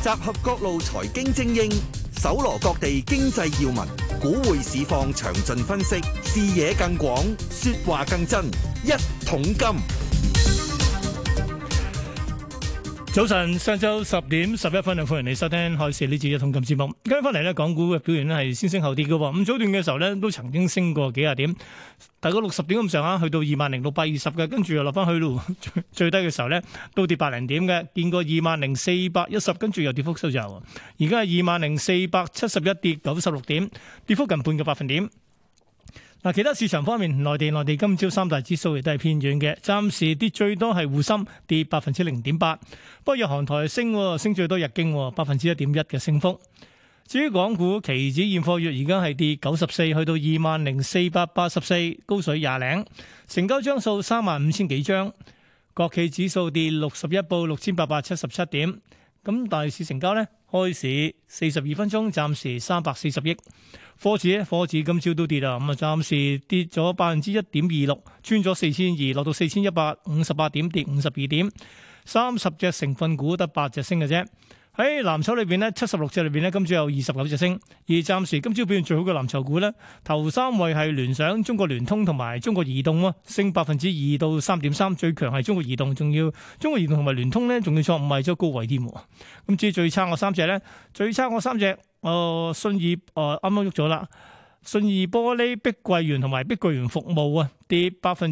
集合各路財經精英，搜羅各地經濟要聞，股匯市況詳盡分析，視野更廣，說話更真。一桶金。 早晨，上晝10:11，歡迎你收聽開市呢節一桶金節目。今日翻嚟咧，港股嘅表現咧係先升後跌嘅。咁早段嘅時候咧，都曾經升過幾廿點，大概60點咁上下，去到20,620嘅，跟住又落翻去咯。最低嘅時候咧，都跌百零點嘅，見過20,410，跟住又跌幅收窄。而家係20,471，跌96點，跌幅近半個百分點。嗱，其他市場方面，內地今朝三大指數亦都係偏軟嘅，暫時跌最多係滬深跌0.8%，不過日韓台升最多日經1.1%嘅升幅。至於港股期指現貨月而家係跌94，去到20,484，高水廿零，成交張數35,000幾張，國企指數跌61，報6,877點。咁大市成交呢，開市42分鐘，暫時340億。科指今朝都跌啦，咁啊暫時跌咗1.26%，穿咗4,200，落到4,158點，跌52點。30隻成分股得8隻升嘅啫。喺藍籌裏邊呢，76隻裏邊呢，今朝有29隻升。而暫時今朝表現最好嘅藍籌股呢，頭三位係聯想、中國聯通同埋中國移動喎，升2%到3.3%，最強係中國移動，仲要中國移動同埋聯通呢，仲要創5日周高位添。咁至於最差嗰三隻呢，信義啱啱喐咗啦，信義玻璃、碧桂園同埋碧桂園服務啊，跌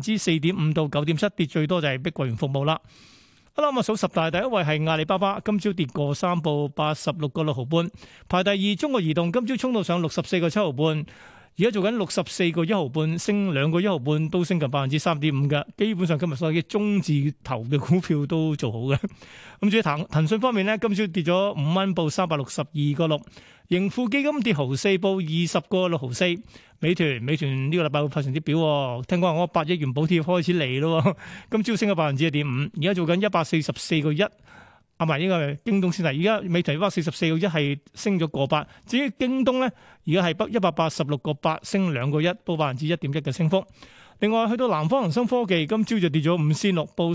4.5%到9.7%，跌最多就係碧桂園服務啦。好啦，咁啊數十大第一位係阿里巴巴，今朝跌過3，報86個6毫半。排第二中國移動，今朝衝到上64個7毫半，而家做緊64個1毫半，升2個1毫半，都升近3.5%嘅。基本上今日所有嘅中字頭嘅股票都做好嘅。咁至於騰訊方面呢，今朝跌咗5蚊，報362個6。盈富基金跌毫四，報20個6毫4。美團呢個禮拜會派成績表，聽講我8億元補貼開始嚟咯，今朝升咗1.5%，而家做緊144個1。啊，埋呢個京東先啦，而家美團144個1係升咗個8。至於京東咧，而家係186個8，升2個1，報1.1%嘅升幅。另外去到南方恒生科技，今朝就跌咗5仙6，報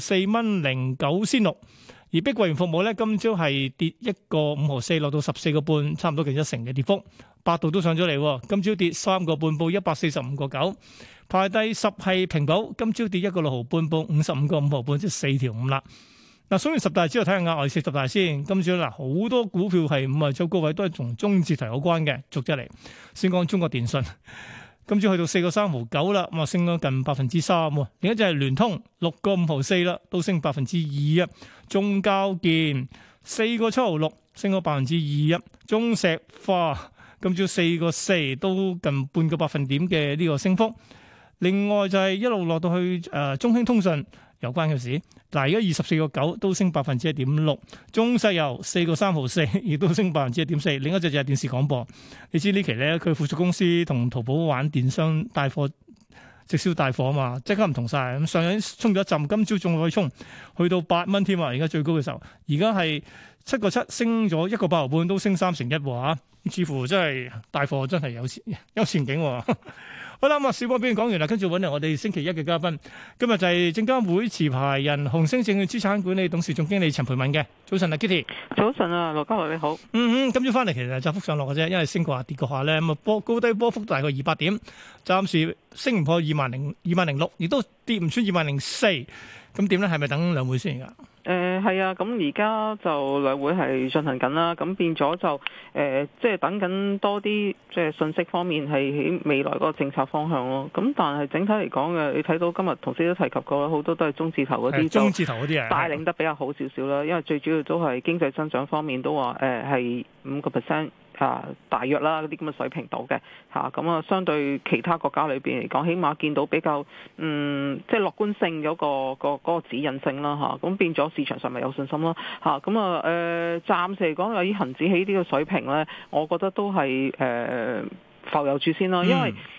4.09仙6。而碧桂園服務咧，今朝係跌1個5毫4，落到14個半，差唔多近1成嘅跌幅。百度都上咗嚟，今朝跌3個半，報145個9。排第10係平保，今朝跌1個6毫半，報55個5毫半，即係4條5啦。嗱，數完10大之後睇下額外40大先。今朝嗱好多股票係5日周高位，都係同中字頭有關嘅，逐隻嚟。先講中國電信。今朝去到4個3毫9啦，咁啊升咗近3%。另一隻係聯通6個5毫4啦，都升2%啊。中交建4個7毫6，升咗2%啊。中石化今朝4個4，都近半個百分點嘅呢個升幅。另外就係一路落到去中興通訊有關嘅事，嗱而家24個9，都升1.6%。中石油4個3毫4，亦都升1.4%。另一隻就係電視廣播，你知呢期咧佢附屬公司同淘寶玩電商帶貨直銷帶貨啊嘛，即刻唔同晒。咁上日衝咗一陣，今朝仲可以衝去到8蚊添啊！而家最高嘅時候，而家係7個7，升咗1個8毫半，都升3成1喎。似乎真係帶貨真係有前景喎。好啦，咁啊，小波表演講完啦，跟住揾嚟我哋星期一嘅嘉賓，今日就係證監會持牌人、紅星證券資產管理董事總經理陳蓓敏嘅。早晨啊 Kitty。 早晨啊，羅嘉樂你好。 今朝翻嚟其實窄幅上落嘅啫，因為升過下跌過下咧，咁啊高低波幅大概200點，暫時升唔破20,600，亦都跌唔穿20,004。咁點咧？係咪等兩會先㗎？ 係啊，咁而家就兩會係進行緊啦，咁變咗就即係等緊多啲即係信息方面係喺未來嗰個政策方向咯。咁但係整體嚟講嘅，你睇到今日同事都提及過啦，好多都係中字頭嗰啲， 中字頭嗰啲啊， 帶領得比較好少少啦。因為最主要都係經濟增長方面都話係5%。大約啦，嗰啲咁嘅水平度嘅咁啊，相對其他國家裏邊嚟講，起碼見到比較即係樂觀性嗰個指引性啦咁變咗市場上咪有信心咯咁啊暫時嚟講，以恆指起呢個水平咧，我覺得都係浮遊住先咯，因為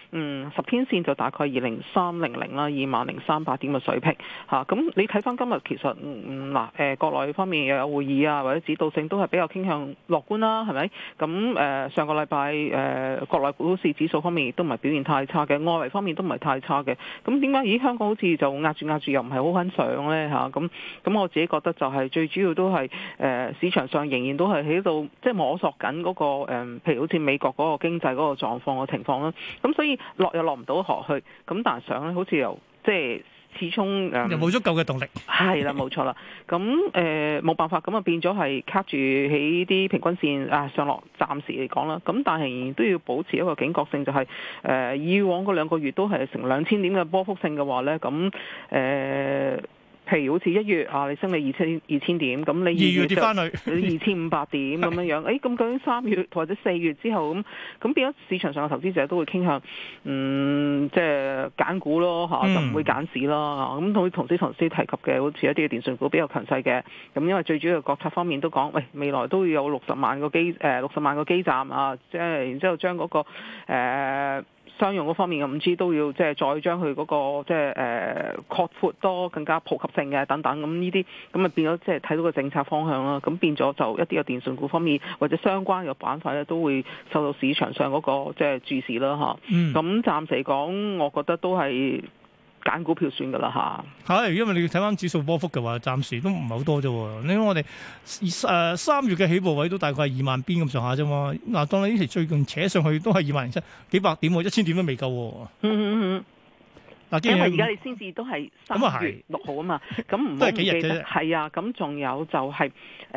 10天線就大概20300啦，20300點嘅水平嚇。咁你睇翻今日其實國內方面又有會議啊，或者指導性都係比較傾向樂觀啦，係咪？咁上個禮拜國內股市指數方面亦都唔係表現太差嘅，外圍方面都唔係太差嘅。咁點解香港好似就壓住又唔係好肯上咧嚇？咁我自己覺得就係最主要都係市場上仍然都係喺度即係摸索緊嗰個譬如好似美國嗰個經濟嗰個狀況嘅情況啦。咁所以落又落唔到河去，咁但係上咧好似又即係始終又冇足夠嘅動力。 係啦，冇錯啦。咁冇辦法，咁啊變咗係卡住喺啲平均線上落，暫時嚟講啦。咁但係仍然都要保持一個警覺性，就係以往嗰2個月都係成2000點嘅波幅性嘅話咧，咁譬如好似1月你升你2000點，咁你 2月跌翻去 2500點咁樣樣，咁究竟3月或者4月之後咁變咗市場上嘅投資者都會傾向即係揀股咯嚇，就唔會揀市啦。咁同時提及嘅，好似一啲嘅電訊股比較強勢嘅，咁因為最主要國策方面都講，未來都要有60萬個基站啊，即係然之後將嗰個商用嗰方面嘅5G 都要即係再將佢嗰個即係擴闊多更加普及性嘅等等，咁呢啲咁啊變咗即係睇到個政策方向啦，咁變咗就一啲嘅電訊股方面或者相關嘅板塊咧都會受到市場上嗰個即係注視啦嚇。咁暫時嚟講，我覺得都係揀股票算㗎啦嚇。 係，因為你睇翻指數波幅嘅話，暫時都唔係好多啫喎。你睇我哋3月嘅起步位都大概係2萬邊咁上下啫嘛。嗱，當你呢期最近扯上去都係20700幾百點喎，1000點都未夠喎。 因為而家你先至都係3月6號啊嘛，咁唔好唔記得係啊。咁仲有就係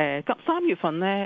3月份咧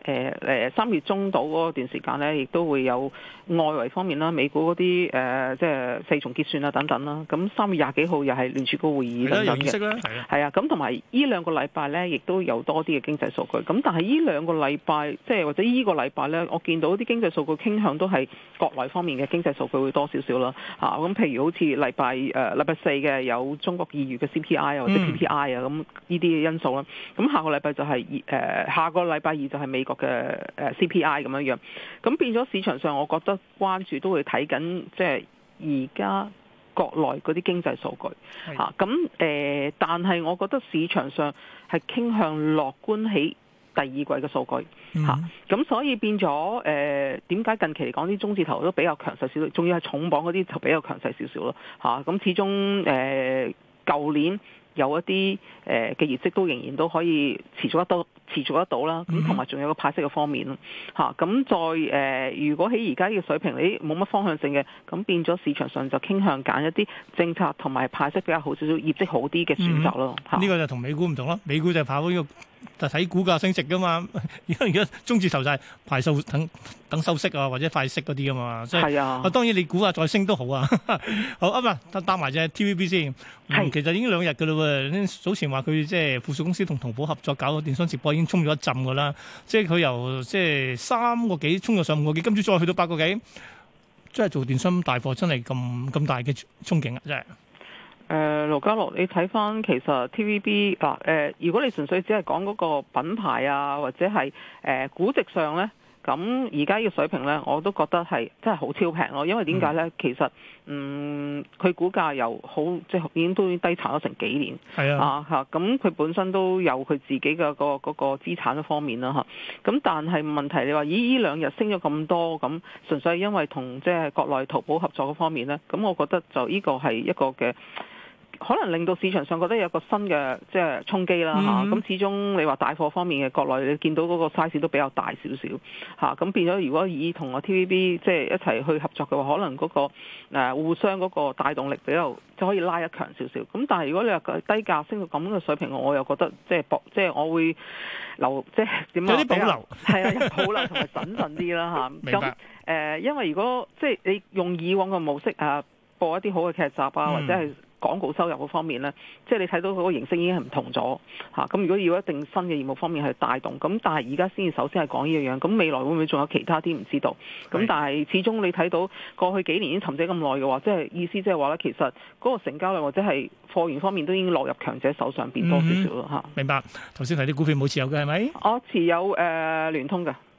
3月中到嗰段時間咧，亦都會有外圍方面啦，美股嗰啲即係4重結算啊等等啦。咁3月20幾號又係聯儲局會議等等嘅，係啊。咁同埋呢2個禮拜咧，亦都有多啲嘅經濟數據。咁但係呢2個禮拜即係或者呢個禮拜咧，我見到啲經濟數據傾向都係國內方面嘅經濟數據會多少少啦嚇。咁譬如好似禮拜4嘅有中國2月嘅 CPI 啊或者 PPI 啊，咁呢啲嘅因素啦。咁下個禮拜就係下個禮拜2就係美國嘅CPI 咁樣樣。咁變咗市場上，我覺得關注都會睇緊，即係而家國內嗰啲經濟數據嚇。咁但係我覺得市場上係傾向樂觀起第二季嘅數據嚇。咁所以變咗點解近期嚟講啲中字頭都比較強勢少少，仲要係重磅嗰啲就比較強勢少少咯嚇。咁始終舊年有一啲嘅業績都仍然都可以持續得到啦，咁同埋仲有個派息嘅方面咯嚇。咁再如果喺而家呢個水平你冇乜方向性嘅，咁變咗市場上就傾向揀一啲政策同埋派息比較好少少、業績好啲嘅選擇咯。 呢個就同美股唔同咯，美股就係跑呢個就睇股價升值噶嘛。而家中字頭就係排數等收息啊，或者快息嗰啲啊嘛。係啊，當然你股價再升都好啊。好啊嘛，搭埋隻 TVB 先。其實已經2日㗎啦喎。早前話佢即係附屬公司同淘寶合作搞個電商直播已經衝咗一陣㗎啦。即係佢由即係3個幾衝咗上5個幾，今朝再去到8個幾，真係做電商大貨真係咁大嘅憧憬啊！真係。 盧家樂，你睇翻其實 TVB 如果你純粹只係講嗰個品牌啊，或者係估值上咧，咁而家呢個水平咧，我都覺得係真係好超平咯。因為點解咧？其實佢股價又好，即係已經都低殘咗成幾年。係啊嚇，咁佢本身都有佢自己嘅嗰個資產嘅方面啦嚇。咁但係問題你話呢2日升咗咁多，咁純粹係因為同即係國內淘寶合作嗰方面咧，咁我覺得就呢個係一個嘅。可能令到市場上覺得有個新嘅即係衝擊啦嚇，咁始終你話大貨方面嘅國內，你見到嗰個 size 都比較大少少嚇，咁變咗如果以同我 TVB 即係一齊去合作嘅話，可能嗰個互相嗰個帶動力比較就可以拉一強少少。咁但係如果你話低價升到咁嘅水平，我又覺得即係我會留即係點樣有啲保留，係啊，有保留同埋審慎啲啦嚇。咁因為如果即係你用以往嘅模式播一啲好嘅劇集啊，或者係廣告收入嗰方面咧，即係你睇到嗰個形式已經係唔同咗嚇。咁如果要一定新嘅業務方面去帶動，咁但係而家先至首先係講呢樣樣，咁未來會唔會仲有其他啲唔知道？咁但係始終你睇到過去幾年已經沉寂咁耐嘅話，即係意思即係話咧，其實嗰個成交量或者係貨源方面都已經落入強者手上邊多少少咯嚇。 明白。頭先提啲股票冇持有嘅係咪？ 我持有聯通嘅。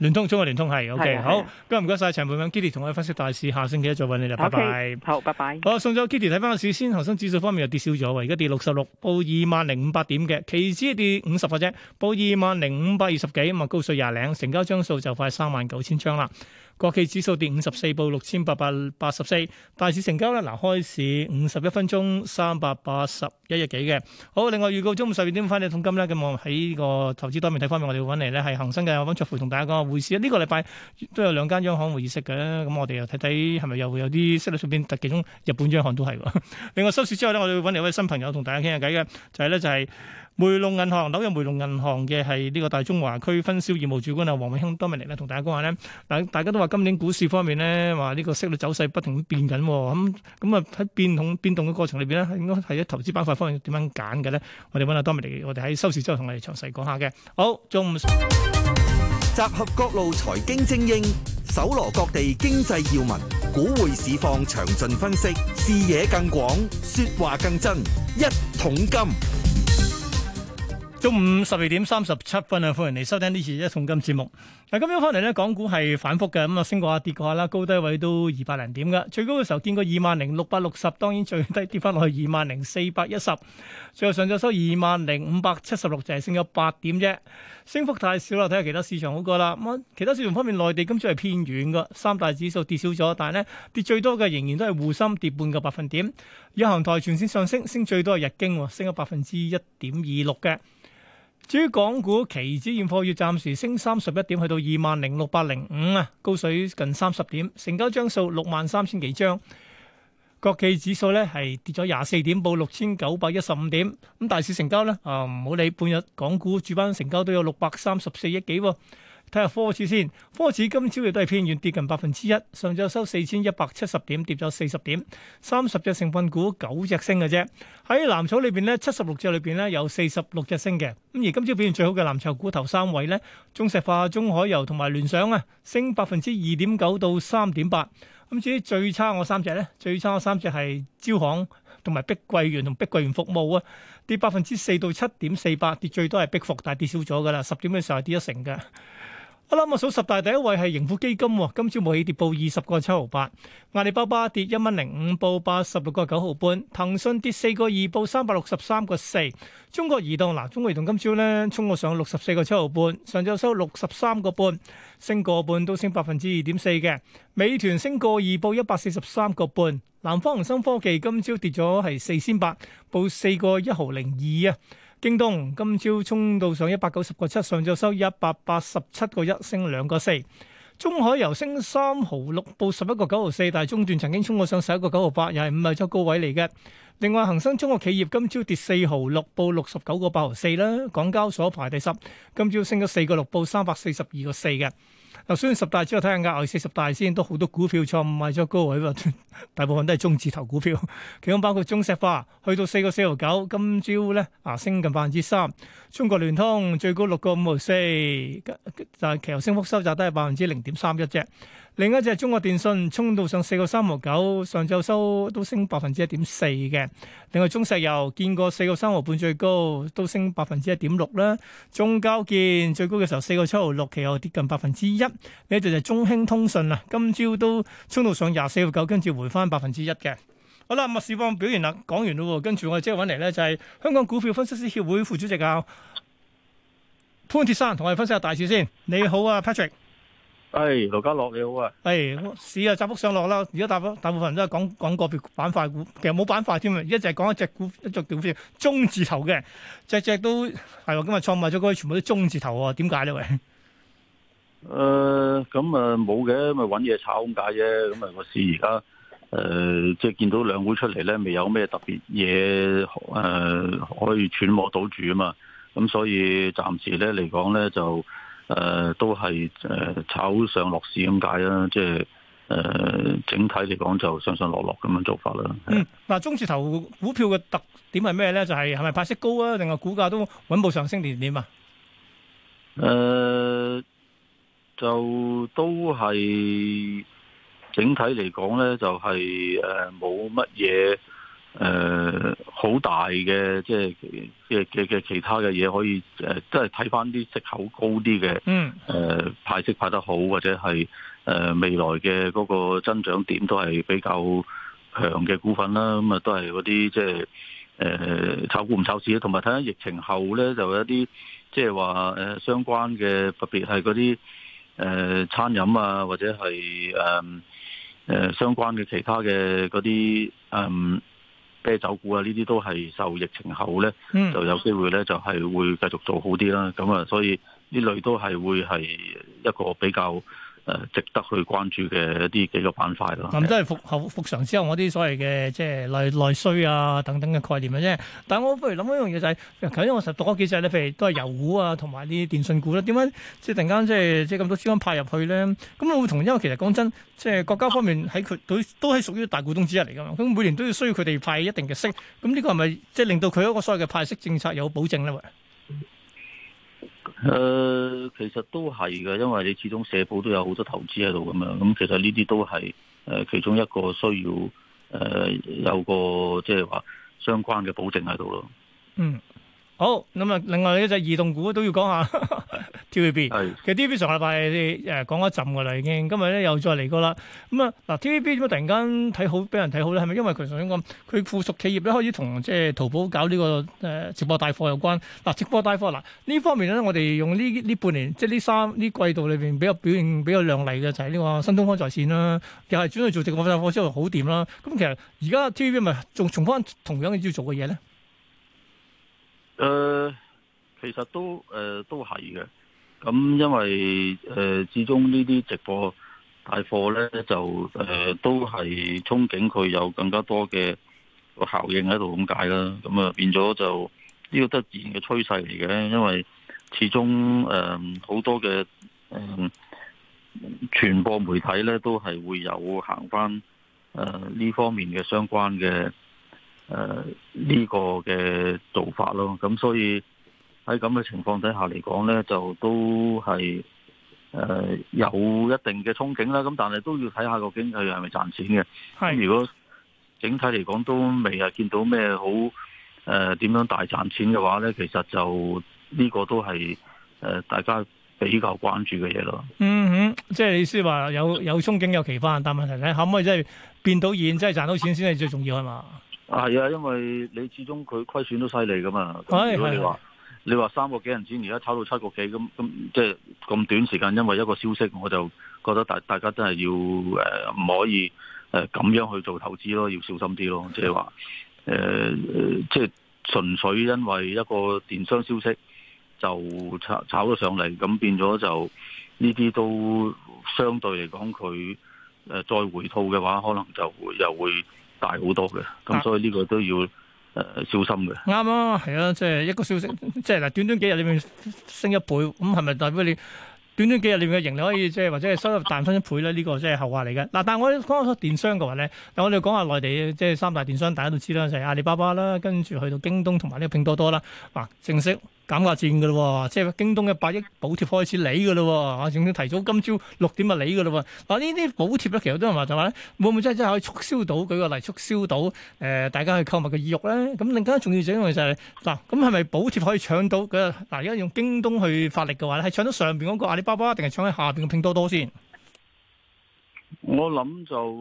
聯通，中國聯通係 OK，好， 係啊今日唔該晒陳蓓敏 Kitty 同我哋分析大市，下星期一再揾你啦，拜拜。 OK，好，拜拜。 好，送咗 Kitty 睇翻個市先，恒生指數方面又跌少咗喎，而家跌66，報20,500點嘅，期指跌50嘅啫，報20,520幾，咁啊高水廿零，成交張數就快39,000張啦。國企指數跌54，報6,884，大市成交咧，嗱開市51分鐘381億幾嘅。好，另外預告中午12點翻嚟桶金咧，咁我喺呢個投資多面睇方面，我哋會揾嚟咧係恒生嘅溫灼培同大家講個匯市。呢個禮拜都有兩間央行會議息嘅，咁我哋又睇睇係咪又會有啲息率上邊，特其中日本央行都係喎。另外收市之後咧，我哋會揾嚟一位新朋友同大家傾下偈嘅，就係梅隆銀行紐約梅隆銀行嘅係呢個大中華區分銷業務主管啊，黃永興多明嚟咧，同大家講下咧。嗱，大家都話今年股市方面咧，話呢個息率走勢不停咁變緊，咁啊喺變動嘅過程裏邊咧，應該係喺投資板塊方面點樣揀嘅咧？我哋揾阿多明嚟，我哋喺收市之後同我哋詳細講下嘅。好，中午集合各路財經精英，搜羅各地經濟要聞，股匯市況詳盡分析，視野更廣，說話更真，一桶金。 中午12:37啊，歡迎嚟收聽呢次一桶金節目。嗱，今日翻嚟咧，港股係反覆嘅，咁啊升過下跌過下啦，高低位都200零點嘅，最高嘅時候見過20,660，當然最低跌翻落去20,410，最後上晝收20,576，就係升咗8點啫，升幅太少啦。睇下其他市場好過啦。咁其他市場方面，內地今朝係偏軟嘅，三大指數跌少咗，但係咧跌最多嘅仍然都係滬深跌半個百分點，日韓台全線上升，升最多係日經升咗1.26%嘅。至於港股期指現貨月暫時升31點，去到20,605啊，高水近30點，成交張數63,000幾張。國企指數咧係跌咗24點，報6,915點。咁大市成交咧唔好理，半日港股主板成交都有634億幾喎。睇下科指先，科指今朝亦都係偏軟，跌近1%，上晝收4,170點，跌咗40點。30隻成分股9隻升嘅啫。喺藍籌裏邊咧，76隻裏邊咧有46隻升嘅。咁而今朝表現最好嘅藍籌股頭三位咧，中石化、中海油同埋聯想啊，升2.9%到3.8%。咁至於最差我三隻咧，最差我三隻係招行同埋碧桂園同碧桂園服務啊，跌4%到7.48%，跌最多係碧服，但係跌少咗噶啦，10點嘅時候係跌1成嘅。好啦，我數十大第一位係盈富基金，今朝冇起跌，報20.758。阿里巴巴跌1.05，報86.9半。騰訊跌4個2，報363.4。中國移動中國移動今朝咧衝過上64.7半，上晝收63個半，升個半都升2.4%嘅。美團升個2，報143個半。南方恒生科技今朝跌咗係4仙8，報4.102啊。京東今朝衝到上190.7，上晝收187.1，升2.4。中海油升3.6，報11.9，但係中段曾經衝過上11.9，又係5日周高位嚟嘅。另外恒生中國企業今朝跌4.6，報69.84啦。港交所排第10，今朝升咗4.6，報342.4嘅。嗱，雖然十大之後睇下額外40大先，都好多股票錯誤賣咗高位喎，大部分都係中字頭股票，其中包括中石化去到4.49，今朝咧升近3%。中國聯通最高6.54，但係其後升幅收窄都係0.31%啫。另一隻中國電信衝到上4.39，上晝收都升1.4%嘅。另外中石油見過4.35最高，都升1.6%啦。中交建最高嘅時候4.76，其後跌近1%。呢隻就係中興通訊啦，今朝都衝到上24.9，跟住回翻1%嘅。好啦，市況表現啦，講完咯，跟住我哋即係揾嚟咧就係香港股票分析師協會副主席潘鐵珊，同我哋分析下大市先。你好啊 Patrick。 盧家樂你好啊！ 市啊窄幅上落啦，而家大部分人都係講個別板塊股，其實冇板塊添啊，而家就係講一隻股票中字頭嘅，隻都係喎，今日創賣咗嗰啲全部都中字頭喎，點解咧？喂， 咁冇嘅，咪揾嘢炒咁解啫。咁個市而家即係見到兩會出嚟咧，未有咩特別嘢可以揣摩到住啊嘛。咁所以暫時咧嚟講咧就。都係炒上落市咁解啦，即係整體嚟講就上上落落咁樣做法啦。 中字頭股票嘅特點係咩咧？就係咪派息高啊，定係股價都穩步上升年點啊？ 就都係整體嚟講咧，就係冇乜嘢好大嘅即係嘅其他嘅嘢可以即係睇翻啲息口高啲嘅派息派得好，或者係未來嘅嗰個增長點都係比較強嘅股份啦。咁啊都係嗰啲即係炒股唔炒市，同埋睇下疫情後咧就有一啲即係話相關嘅，特別係嗰啲餐飲啊，或者係相關嘅其他嘅嗰啲啤酒股啊，呢啲都係受疫情後咧就有機會咧就係會繼續做好啲啦。咁啊，所以呢類都係會係一個比較值得去關注嘅一啲幾個板塊咯。 咁都係復常之後嗰啲所謂嘅即係內需啊等等嘅概念嘅啫。但係我不如諗一樣嘢就係，頭先我實讀咗幾隻咧，譬如都係油股啊，同埋啲電信股啦。點解即係突然間即係咁多資金派入去咧？咁我會同因為其實講真，即係國家方面喺佢都係屬於大股東之一嚟㗎嘛。咁每年都要需要佢哋派一定嘅息。咁呢個係咪即係令到佢嗰個所謂嘅派息政策有保證咧？ 其實都係嘅，因為你始終社保都有好多投資喺度咁樣，咁其實呢啲都係其中一個需要有個即係話相關嘅保證喺度咯。 好，咁啊，另外呢隻移動股都要講下TVB。其實 TVB 上個禮拜講一陣噶啦，已經今日咧又再嚟過啦。咁啊，嗱 TVB 點解突然間睇好，俾人睇好咧？係咪因為佢頭先講佢附屬企業咧開始同即係淘寶搞呢個直播帶貨有關？嗱，直播帶貨呢方面咧，我哋用呢半年即係呢季度裏邊比較表現比較亮麗嘅就係呢個新東方在線啦，又係轉去做直播帶貨之後好掂啦。咁其實而家 TVB 咪仲重翻同樣要做嘅嘢咧？ 其實都係嘅，咁因為始終呢啲直播帶貨咧就都係憧憬佢有更加多嘅個效應喺度咁解啦，咁啊變咗就呢個都係自然嘅趨勢嚟嘅，因為始終好多嘅傳播媒體咧都係會有行翻呢方面嘅相關嘅呢個嘅做法咯，咁所以喺咁嘅情況底下嚟講呢，就都係有一定嘅憧憬啦。咁但係都要睇下個經濟係咪賺錢嘅。咁如果整體嚟講都未係見到咩好點樣大賺錢嘅話呢，其實就呢個都係大家比較關注嘅嘢咯。 即係意思話有憧憬有期盼，但問題咧可唔可以真係變到現，真係賺到錢先係最重要係嘛？ 係啊，因為你始終佢虧損都犀利噶嘛。如果你話3個幾銀錢，而家炒到7個幾，咁即係咁短時間，因為一個消息，我就覺得大家真係要唔可以咁樣去做投資咯，要小心啲咯。即係話即係純粹因為一個電商消息就炒咗上嚟，咁變咗就呢啲都相對嚟講，佢再回吐嘅話，可能就又會大好多嘅。咁所以呢個都要小心嘅。啱啊，係啊，即係一個消息，即係嗱，短短幾日裏面升1倍，咁係咪代表你短短幾日裏面嘅盈利可以即係或者係收入彈翻1倍咧？呢個即係後話嚟嘅。嗱，但係我講下電商嘅話咧，我哋講下內地即係3大電商，大家都知啦，就係阿里巴巴啦，跟住去到京東同埋呢個拼多多啦。嗱，正式減價戰嘅咯，即係京東嘅100億補貼開始嚟嘅咯，我仲要提早今朝6點就嚟嘅咯。嗱，呢啲補貼咧，其實都係話就話咧，會唔會真係可以促銷到？舉個例，促銷到大家去購物嘅意欲咧？咁更加重要就係因為就係嗱，咁係咪補貼可以搶到？嗱，而家用京東去發力嘅話咧，係搶到上邊嗰個阿里巴巴，定係搶喺下邊嘅拼多多先？ 我諗就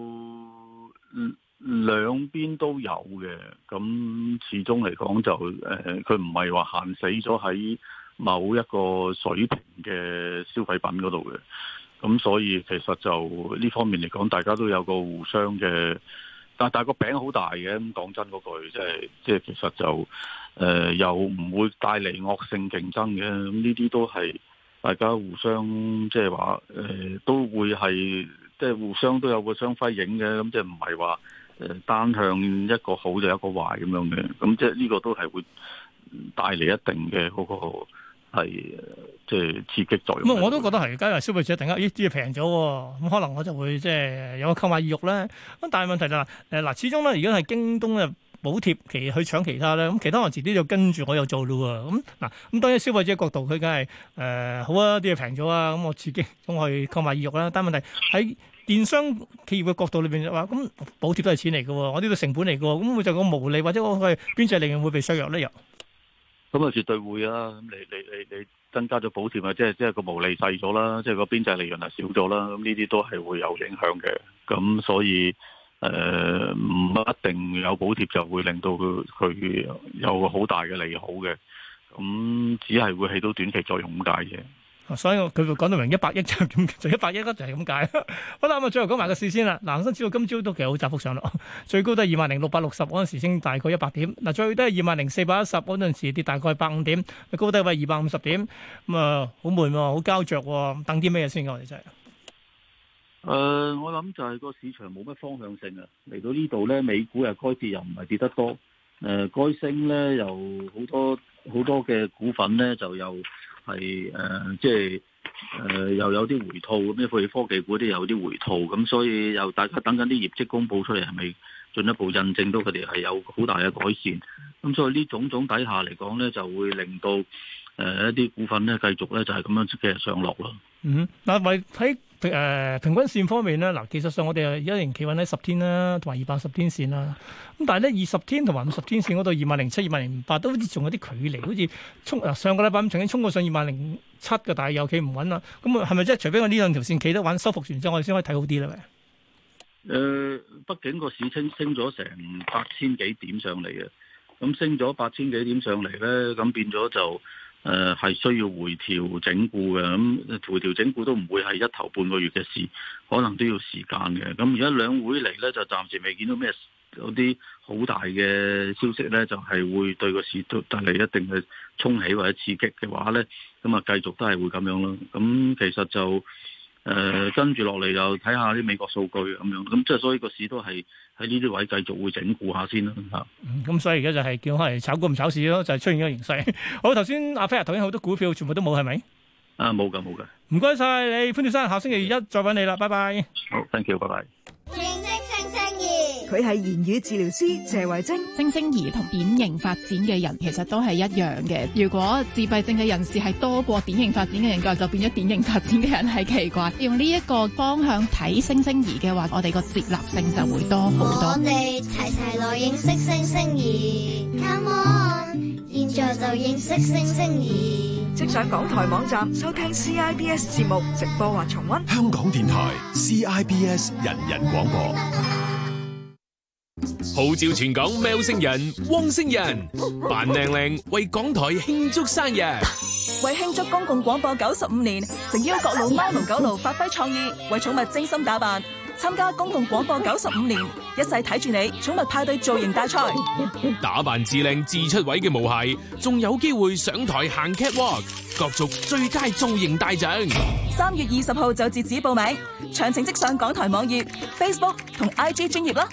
兩邊都有嘅，咁始終嚟講就佢唔係話限死咗喺某一個水平嘅消費品嗰度嘅，咁所以其實就呢方面嚟講，大家都有個互相嘅，但係個餅好大嘅，咁講真嗰句，即係其實就又唔會帶嚟惡性競爭嘅，咁呢啲都係大家互相即係話都會係即係互相都有個相輝映嘅，咁即係唔係話單向一個好就一個壞咁樣嘅，咁即係呢個都係會帶嚟一定嘅嗰個係即係刺激作用。 我都覺得係，假如消費者突然間啲嘢平咗，咁可能我就會即係有個購買意欲咧。咁但係問題就係嗱，始終咧而家係京東咧補貼去搶其他咧，咁其他人遲啲就跟住我又做咯喎。咁嗱，咁當然消費者角度佢梗係好啊，啲嘢平咗啊，咁我刺激咁我去購買意欲啦。但係問題喺電商企業嘅角度裏邊就話，咁補貼都係錢嚟嘅喎，我呢個成本嚟嘅喎，咁會就個毛利或者我嘅邊際利潤會被削弱咧又？ 咁啊，絕對會啊！咁你增加咗補貼啊，即係個毛利細咗啦，即係個邊際利潤係少咗啦。咁呢啲都係會有影響嘅。咁所以唔一定有補貼就會令到佢有個好大嘅利好嘅。咁只係會起到短期作用咁解啫。 所以佢講到明100億就100億啦，就係咁解。好啦，咁啊，最後講埋個市先啦。嗱，恒生指數今朝都其實好窄幅上落，最高都係20,660嗰陣時升大概100點，嗱最低係20,410嗰陣時跌大概150點，高低位250點，咁啊好悶喎，好膠着喎，等啲咩先我哋真係。 我諗就係個市場冇乜方向性啊。嚟到呢度咧，美股又該跌又唔係跌得多，該升咧又好多嘅股份咧就又係又有啲回吐，咁譬如科技股啲有啲回吐，咁所以又大家等緊啲業績公佈出嚟，係咪進一步印證到佢哋係有好大嘅改善？咁所以呢種底下嚟講咧，就會令到一啲股份咧繼續咧就係咁樣嘅上落咯。 嗱，為喺平均線方面咧，嗱技術上我哋一年企穩喺10天啦，同埋210天線啦。咁但係咧20天同埋50天線嗰度2007、2008都好似仲有啲距離，好似上個禮拜咁曾經衝過上2007嘅，但係又企唔穩啦。咁啊係咪即係除非我呢兩條線企得穩，收復完之後，我哋先可以睇好啲咧？ 畢竟個市升咗成8000幾點上嚟嘅，咁升咗8000幾點上嚟咧，咁變咗就係需要回調整固嘅，咁回調整固都唔會係一頭半個月嘅事，可能都要時間嘅。咁而家兩會嚟咧，就暫時未見到咩有啲好大嘅消息咧，就係會對個市都帶嚟一定嘅衝起或者刺激嘅話咧，咁啊繼續都係會咁樣咯。咁其實就跟住落嚟就睇下啲美國數據咁樣，咁即係所以個市都係喺呢啲位繼續會整固下先啦嚇。 咁所以而家就係叫係炒股唔炒市咯，就係出現咗形勢。好，頭先阿飛頭先好多股票全部都冇係咪？ 冇㗎。 唔該晒你潘先生，下星期一再揾你啦，拜拜。 好 ，thank you，拜拜。 佢係言語治療師謝慧晶。 星星兒同典型發展嘅人其實都係一樣嘅。如果自閉症嘅人士係多過典型發展嘅人嘅話，就變咗典型發展嘅人係奇怪。用呢一個方向睇星星兒嘅話，我哋個接納性就會多好多。 我哋齊齊來認識星星兒 ，Come on，現在就認識星星兒。 即上港台網站收聽 CIBS 節目直播或重溫。 香港電台 CIBS 人人廣播。號召全港喵星人、汪星人扮靚靚為港台慶祝生日。 為慶祝公共廣播95年，誠邀各路貓奴狗奴發揮創意，為寵物精心打扮，參加公共廣播95年，一齊睇住你寵物派對造型大賽。 打扮至靚至出位嘅毛孩，仲有機會上台行 catwalk， 角逐最佳造型大獎。 3月20號就截止報名，詳情即上港台網頁、Facebook 同 IG 專頁啦。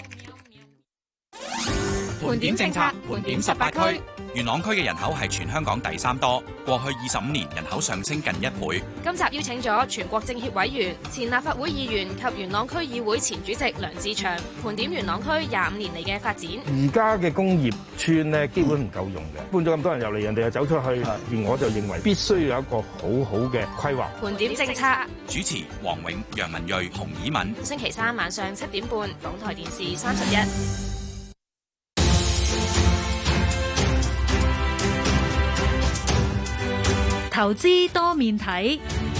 盤點政策，盤點18區。元朗區嘅人口係全香港第3多，過去25年人口上升近1倍。 今集邀請咗全國政協委員、前立法會議員及元朗區議會前主席梁志祥，盤點元朗區25年嚟嘅發展。 而家嘅工業村咧，基本唔夠用嘅，搬咗咁多人入嚟，人哋又走出去，而我就認為必須有一個好好嘅規劃。 盤點政策， 主持黃永、楊文睿、洪以敏。 星期3晚上7點半，港台電視31。 投資多面睇，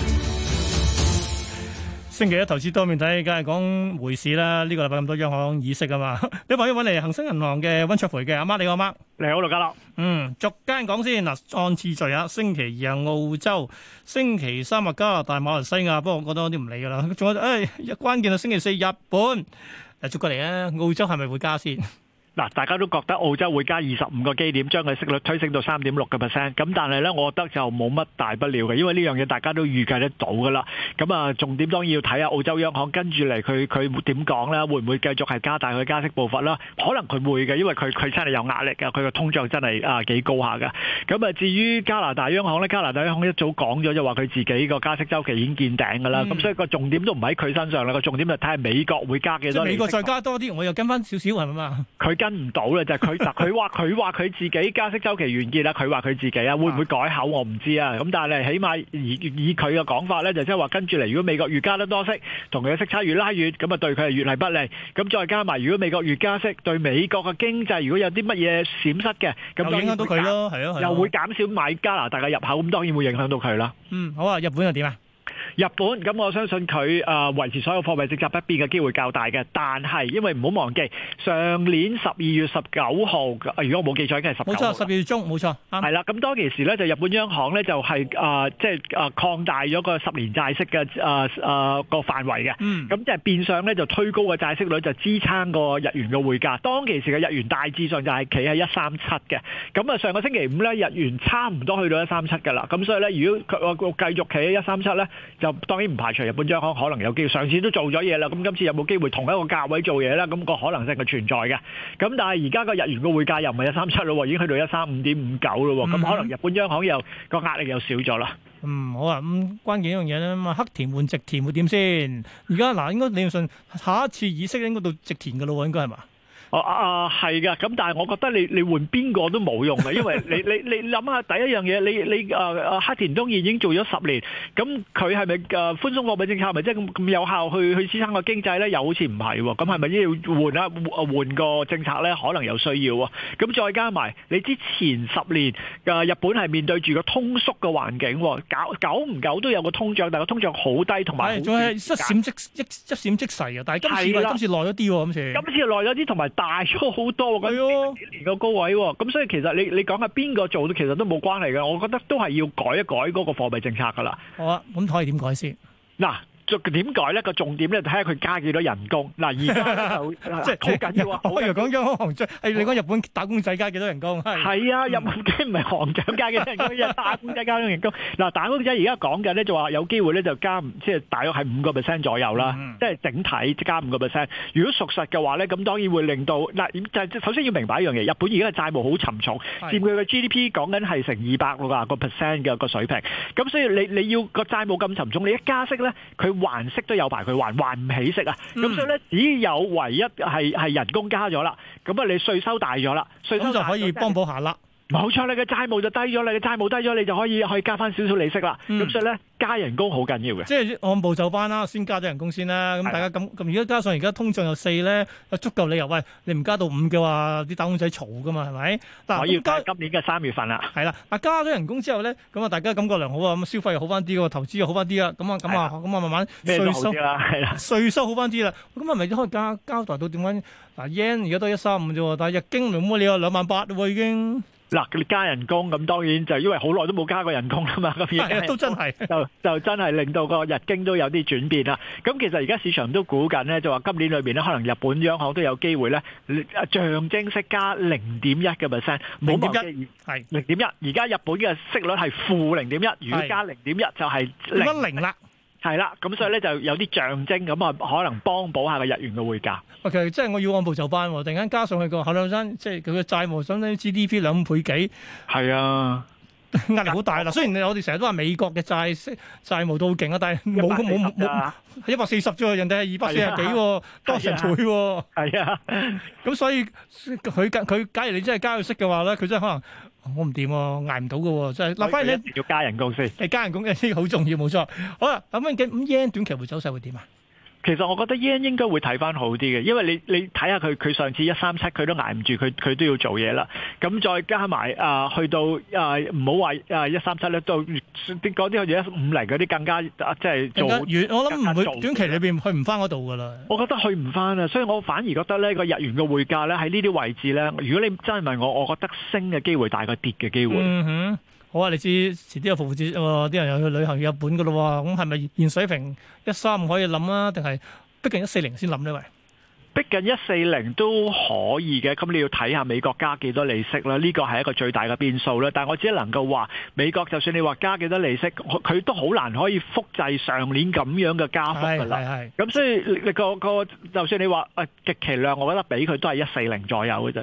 星期一投資多面睇，梗係講匯市啦。呢個禮拜咁多央行議息啊嘛，你朋友揾嚟恒生銀行嘅溫灼培嘅阿媽，你好阿媽。 你好，盧家樂。 逐間講先嗱，按次序啊。星期二係澳洲，星期三係加拿大、馬來西亞，不過我覺得我啲唔理噶啦。仲有關鍵係星期四日本，逐個嚟啊。澳洲係咪會加先？ 嗱，大家都覺得澳洲會加25個基點，將佢息率推升到3.6%。咁但係咧，我覺得就冇乜大不了嘅，因為呢樣嘢大家都預計得到噶啦。咁啊，重點當然要睇下澳洲央行跟住嚟佢點講啦，會唔會繼續係加大佢加息步伐啦？可能佢會嘅，因為佢真係有壓力嘅，佢個通脹真係幾高下嘅。咁啊，至於加拿大央行咧，加拿大央行一早講咗就話佢自己個加息週期已經見頂噶啦。咁所以個重點都唔喺佢身上啦，個重點就睇下美國會加幾多。 即係美國再加多啲，我又跟翻少少係咪嘛？ 佢跟唔到啦，就係佢話佢自己加息週期完結啦，佢話佢自己啊，會唔會改口我唔知啊。咁但係起碼以佢嘅講法咧，就即係話跟住嚟，如果美國越加得多息，同佢嘅息差越拉越，咁啊對佢係越係不利。咁再加埋，如果美國越加息，對美國嘅經濟如果有啲乜嘢閃失嘅，咁影響到佢咯，係咯， 又會減少買加拿大嘅入口，咁當然會影響到佢啦。 好啊，日本又點啊？ 日本咁，我相信佢維持所有貨幣政策不變嘅機會較大嘅，但係因為唔好忘記上年12月19號，如果我冇記錯，應該係19號。冇錯，12月中冇錯。係啦，咁當其時咧，就日本央行咧就係擴大咗個10年債息嘅個範圍嘅。咁即係變相咧就推高個債息率，就支撐個日元嘅匯價。當其時嘅日元大致上就係企喺137嘅。咁啊，上個星期五咧，日元差唔多去到137㗎啦。咁所以咧，如果佢繼續企喺137咧，就當然唔排除日本央行可能有機會，上次都做咗嘢啦，咁今次有冇機會同一個價位做嘢咧？咁個可能性係存在嘅。咁但係而家個日元嘅匯價又唔係137咯，已經去到135.59咯。咁可能日本央行又個壓力又少咗啦。 好啊，關鍵一樣嘢咧，黑田換直田會點先？而家嗱，應該理論上下一次議息應該到直田㗎咯，應該係嘛？ 係㗎，咁但係我覺得你換邊個都冇用嘅，因為你諗下第一樣嘢，你黑田東彥已經做咗10年，咁佢係咪寬鬆貨幣政策係咪即係咁有效去支撐個經濟咧？又好似唔係喎，咁係咪要換個政策咧？可能有需要喎。咁再加埋你之前10年日本係面對住個通縮嘅環境，久唔久都有個通脹，但係個通脹好低，同埋仲係一閃即逝啊！但係今次耐咗啲喎，今次耐咗啲，同埋大咗好多，咁幾年個高位喎，咁所以其實你講下邊個做，其實都冇關係嘅。我覺得都係要改一改嗰個貨幣政策噶啦。 好啊，咁可以點改先？嗱。 點改咧？個重點咧，睇下佢加幾多人工。嗱，而家就即係好緊要啊！ 我以為講央行行長，你講日本打工仔加幾多人工？ 係啊，日本梗唔係行長加幾多人工，係打工仔加幾多人工。嗱，打工仔而家講緊咧就話有機會咧就加，即係大約係5% 左右啦，即係整體加5%。如果屬實嘅話咧，咁當然會令到嗱，就首先要明白一樣嘢，日本而家嘅債務好沉重，佔佢嘅 GDP 講緊係成260% 嘅個水平。咁所以你要個債務咁沉重，你一加息咧，佢還息都有排佢還唔起息啊！咁所以咧，只有唯一係人工加咗啦，咁啊你稅收大咗啦，稅收就可以幫補下啦。 冇錯，你嘅債務就低咗，你嘅債務低咗，你就可以加翻少少利息啦。咁所以咧，加人工好緊要嘅。 即係按部就班啦，先加咗人工先啦。咁大家咁而家加上而家通脹又4咧，有足夠理由。喂，你唔加到5嘅話，啲打工仔嘈噶嘛，係咪？嗱， 我要加今年嘅3月份啦。 係啦，嗱加咗人工之後咧，咁啊大家感覺良好啊，咁消費又好翻啲，投資又好翻啲啊，咁啊慢慢稅收係啦， 稅收好翻啲啦。咁係咪可以交代到點解？嗱 yen 而家都135啫喎，但係日經冇乜理由28000喎已經。 嗱，你加人工咁當然就因為好耐都冇加過人工啦嘛，咁而家都真係就真係令到個日經都有啲轉變啦。咁其實而家市場都估緊咧，就話今年裏邊咧，可能日本央行都有機會咧，象徵式加0.1%，冇忘記係0.1。而家日本嘅息率係-0.1，如果加0.1就係 0啦。 係啦，咁所以咧就有啲象徵咁啊，可能幫補下個日元嘅匯價。 OK，即係我要按部就班喎，突然間加上去個後兩生，即係佢嘅債務相當於 GDP 2倍幾。係啊，壓力好大啦。雖然我哋成日都話美國嘅債務都好勁啊，但係冇140啫喎，人哋係240幾喎，多成倍喎。係啊，咁所以佢假如你真係加佢息嘅話咧，佢真係可能。我唔掂喎，捱唔到嘅喎，真係。嗱，反而你要加人工先， 加人工嘅呢個好重要，冇錯。好啦，咁yen 短期會走勢會點啊？ 其實我覺得 yen 應該會睇翻好啲嘅，因為你睇下佢上次137佢都捱唔住，佢都要做嘢啦。咁再加埋去到唔好話137咧，到嗰啲好似150嗰啲更加即係做遠。我諗唔會短期裏邊去唔翻嗰度㗎啦。我覺得去唔翻啊，所以我反而覺得呢個日元嘅匯價咧喺呢啲位置咧，如果你真係問我覺得升嘅機會大過跌嘅機會。嗯哼。 好啊！你知遲啲有復活節喎，啲人又去旅行去日本噶咯喎，咁係咪現水平135可以諗啊？定係逼近140先諗呢？喂， 逼近140都可以嘅，咁你要睇下美國加幾多利息啦，呢個係一個最大嘅變數啦。但係我只能夠話美國就算你話加幾多利息，佢都好難可以複製上年咁樣嘅加幅噶啦。咁所以你個就算你話極其量，我覺得俾佢都係140左右嘅啫。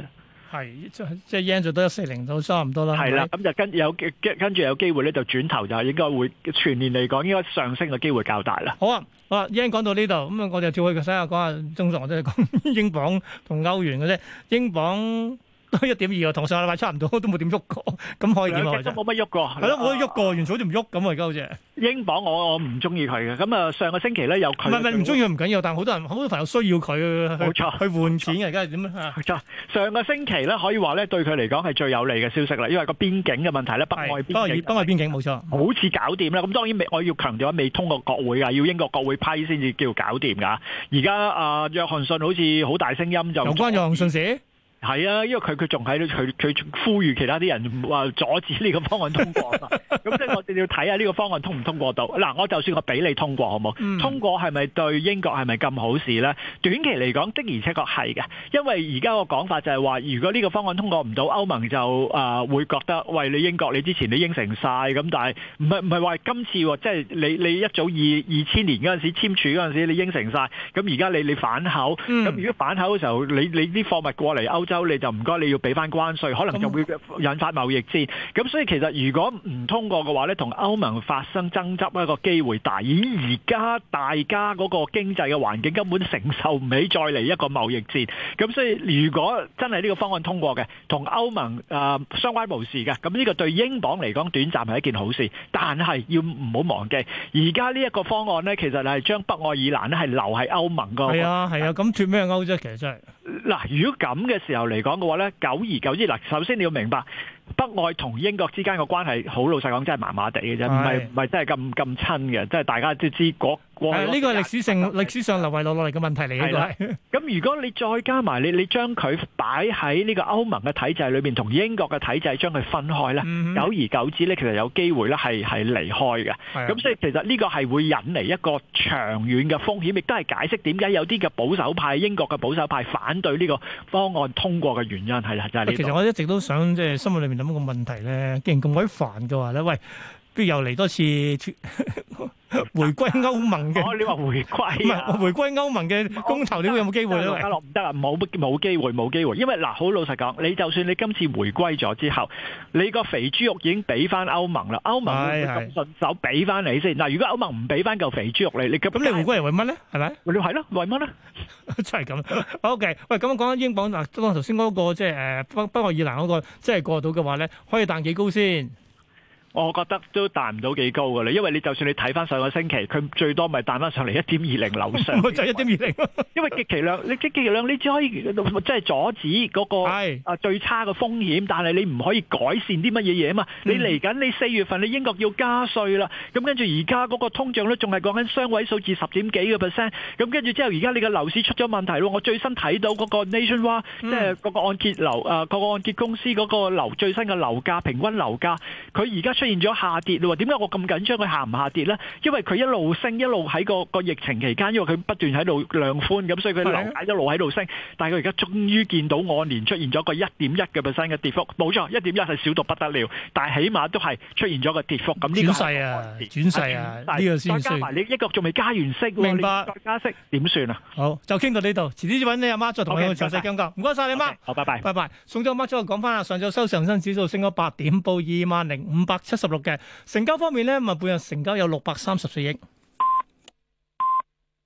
係即係 yen 最多140都差唔多啦。 係啦，咁就跟住有機會咧，就轉頭就應該會全年嚟講應該上升嘅機會較大啦。 好啊，yen 講到呢度，咁啊我哋跳去睇下講下中國，我哋講英鎊同歐元嘅啫，英鎊。都1.2啊，同上個禮拜差唔多，都冇點喐過，咁可以點啊？ 都冇乜喐過， 係咯，冇得喐過，完全好似唔喐咁啊！而家好似英鎊我唔中意佢嘅，咁啊上個星期咧有佢， 唔係唔中意佢唔緊要，但係好多朋友需要佢，冇錯，去換錢嘅，而家係點啊？冇錯， 上個星期咧可以話咧對佢嚟講係最有利嘅消息啦，因為個邊境嘅問題咧，北愛邊境冇錯，好似搞掂啦。咁當然我要強調未通過國會啊，要英國國會批先至叫搞掂㗎。而家約翰遜好似好大聲音就有關約翰遜事。 係啊，因為佢仲喺度，佢呼籲其他啲人話阻止呢個方案通過嘛。咁即係我哋要睇下呢個方案通唔通過到。嗱，我就算我俾你通過，好冇？通過係咪對英國係咪咁好事呢？短期嚟講的而且確係嘅，因為而家個講法就係話，如果呢個方案通過唔到，歐盟就會覺得，喂，你英國你之前你應承晒咁，但係唔係話今次喎，即係你一早2000年嗰陣時簽署嗰陣時你應承晒，咁而家你反口，咁如果反口嘅時候，你啲貨物過嚟歐洲你就唔該，你要俾翻關稅，可能就會引發貿易戰。咁所以其實如果唔通過嘅話咧，同歐盟發生爭執一個機會大。而家大家嗰個經濟嘅環境根本承受唔起再嚟一個貿易戰。咁所以如果真係呢個方案通過嘅，同歐盟相關無事嘅，咁呢個對英鎊嚟講短暫係一件好事。但係要唔好忘記，而家呢一個方案咧，其實係將北愛爾蘭咧係留喺歐盟個。係啊，咁脱咩歐啫？其實真係。 嗱，如果咁嘅時候嚟講嘅話咧，久而久之，嗱，首先你要明白北愛同英國之間嘅關係，好老實講真係麻麻地嘅啫，唔係真係咁親嘅，即係大家都知呢個係歷史上流遺落嚟嘅問題嚟嘅。咁如果你再加埋你將佢擺喺呢個歐盟嘅體制裏邊，同英國嘅體制將佢分開咧，久而久之咧，其實有機會咧係離開嘅。咁所以其實呢個係會引嚟一個長遠嘅風險，亦都係解釋點解有啲嘅保守派，英國嘅保守派反對呢個方案通過嘅原因係啦，就係呢度。 其實我一直都想即係心裏面諗個問題咧，既然咁鬼煩嘅話咧，喂，不如又嚟多次回歸歐盟嘅？ 你話回歸？ 唔係回歸歐盟嘅公投，你會有冇機會咧？ 唔得啊，冇機會，因為嗱，好老實講，你就算你今次回歸咗之後，你個肥豬肉已經俾翻歐盟啦，歐盟會唔會咁順手俾翻你先？嗱，如果歐盟唔俾翻嚿肥豬肉你咁你回歸係為乜咧？係咪？ 你係咯，為乜咧？ 真係咁。OK，喂，咁講緊英鎊嗱，當頭先嗰個即係北愛爾蘭嗰個，即係過到嘅話咧，可以彈幾高先？ 我覺得都彈唔到幾高㗎啦，因為你就算你睇翻上個星期，佢最多咪彈翻上嚟1.20樓上， 就係1.20。 因為極其量你只可以即係阻止嗰個最差嘅風險，但係你唔可以改善啲乜嘢嘢啊嘛。你嚟緊你4月份你英國要加稅啦，咁跟住而家嗰個通脹率仲係講緊雙位數字10.幾個 %，咁跟住之後而家你嘅樓市出咗問題咯。我最新睇到嗰個 Nationwide 即係嗰個按揭個按揭公司嗰個最新嘅樓價平均樓價，佢而家出現咗下跌咯。點解我咁緊張佢下唔下跌呢？因為佢一路升，一路喺個疫情期間，因為佢不斷喺度量寬，咁所以佢樓價一路喺度升。但係佢而家終於見到按年出現咗個1.1% 嘅跌幅，冇錯，1.1係少到不得了，但係起碼都係出現咗個跌幅。咁呢個轉勢啊，呢個先再加埋你英國仲未加完息， 明白？ 再加息點算啊？ 好，就傾到呢度，遲啲揾你阿媽再同你詳細講講。唔該晒你媽， 好，拜拜， 拜拜。送咗阿媽之後講翻啦，上晝收恒生指數升咗8點，報20,576嘅。成交方面咧，咪半日成交有634億。